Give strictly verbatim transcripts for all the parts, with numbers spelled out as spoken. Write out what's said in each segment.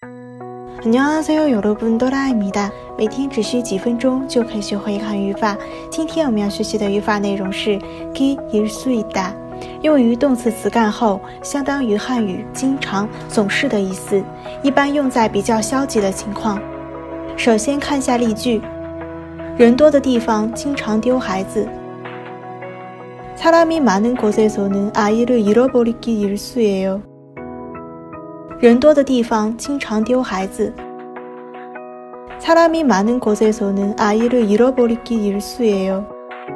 안녕하세요 여러분，哆啦咪哒，每天只需几分钟就可以学会汉语法。今天我们要学习的语法内容是기일수있다，用于动词词干后，相当于汉语经常、总是的意思，一般用在比较消极的情况。首先看下例句，人多的地方经常丢孩子。사람이 많은 곳에서는 아이를 잃어버리기 일수예요。人多的地方经常丢孩子。사람이 많은 곳에서는 아이를 잃어버리기 일수예요。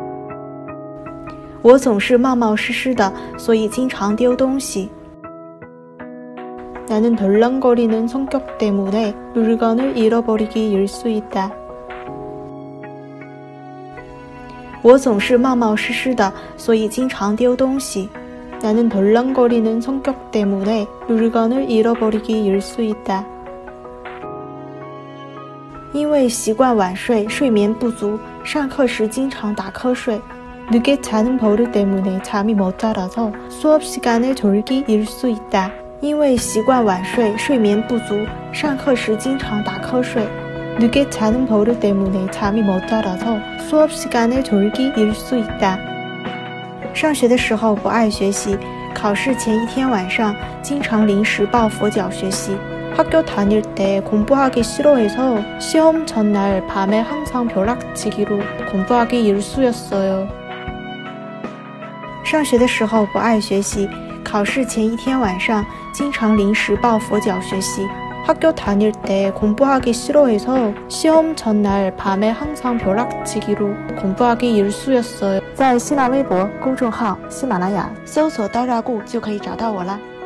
我总是冒冒失失的，所以经常丢东西。나는 덜렁거리는 성격 때문에 물건을 잃어버리기 일수있다。我总是冒冒失失的，所以经常丢东西。나는 덜렁거리는 성격 때문에 물건을 잃어버리기 일수있다。因为习惯晚睡，睡眠不足，上课时经常打瞌睡。늦게 자는 버릇 때문에 잠이 못 자라서 수업 시간에 졸기 일수있다。因为习惯晚睡，睡眠不足，上课时经常打瞌睡。늦게 자는 버릇 때문에 잠이 못 자라서 수업 시간에 졸기 일수있다。上学的时候不爱学习，考试前一天晚上经常临时抱佛脚学习。학교 다닐 때 공부하기 싫어해서 시험 전날 밤에 항상 벼락치기로 공부하기 일수였어요。上学的时候不爱学习，考试前一天晚上经常临时抱佛脚学习。학교 다닐 때 공부하기 싫어해서 시험 전날 밤에 항상 벼락치기로 공부하기 일수였어요。在新浪微博公众号喜马拉雅搜索刀扎固就可以找到我啦。